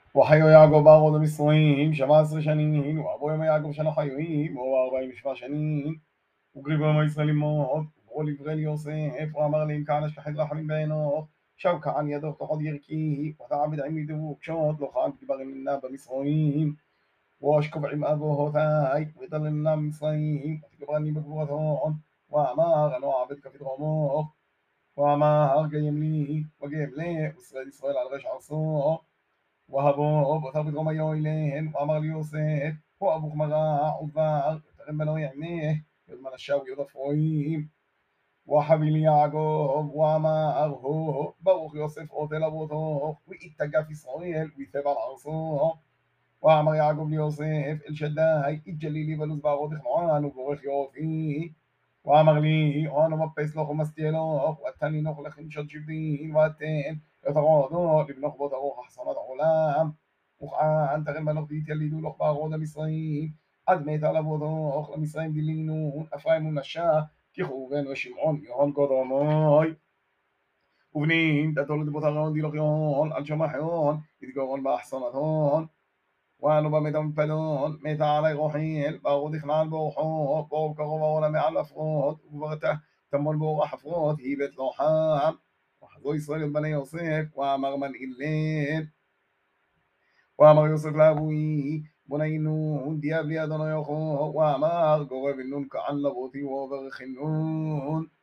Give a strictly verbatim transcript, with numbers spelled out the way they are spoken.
וחיו יעקב בארץ מצרים שבע עשרה שנים, ועברו ימי יעקב שנה חיואים, ואור ארבעים ושבע שנים. וגריבו ימי ישראל למות, וברו לברא ליוסף, ואמר להם כהנא אשכחת רחמים בעינו, שב כען ידך תאכל ירקי, ותעבד עמי דבוקשות, לא חג תברננה במצרים. واشكب عم أبوهوتاي ويضللنا من مصرين وتكبرني بقوتهم وأمار أنا عبدك في درومه وأمار قيم لي وقيم لي وإسرائيل إسرائيل على غش عصوه وهبوه وثبت غم يويلين وأمر ليوسف وأبوك مراع وفار تغمنوا يعنيه يضمن الشاوي يضفوين وحبيل يعقوب وأمار هو برוך يوسف أوتل أبوته وإتقى في إسرائيل ويثبت عصوه وأمر يعقوب ليوسف الشداي اجلي لي بلوز باغوت خنعان وبورخ يوفي وأمر لي أنا مبيس لخ ومستيلوخ واتني نخ لخن شد شبين واتين يتغاضو لبنخ بطروخ حصنات عولام وخان تغن بنخ ديت يليدو لخ باغوت مصرين عد ميت على بوضوخ لمصرين دلينون أفرايم منشا كيخوغن وشمعون يهون قدرموي ובנים תתולד בוטרון דילוחיון על שמחיון יתגורון באחסונתון ואנו במדם פלון מתה עלי רוחיל ברור דכנען באורחו בואו קרוב העולם מעל הפרות וברתה תמול באור החפרות היא בית לוחם וחזו ישראל את בני יוסף ואמר מנעילן ואמר יוסף לאבוי בוניינו דיאב לי אדוני יוכו ואמר גורב נון כען לבותי ועובר חינון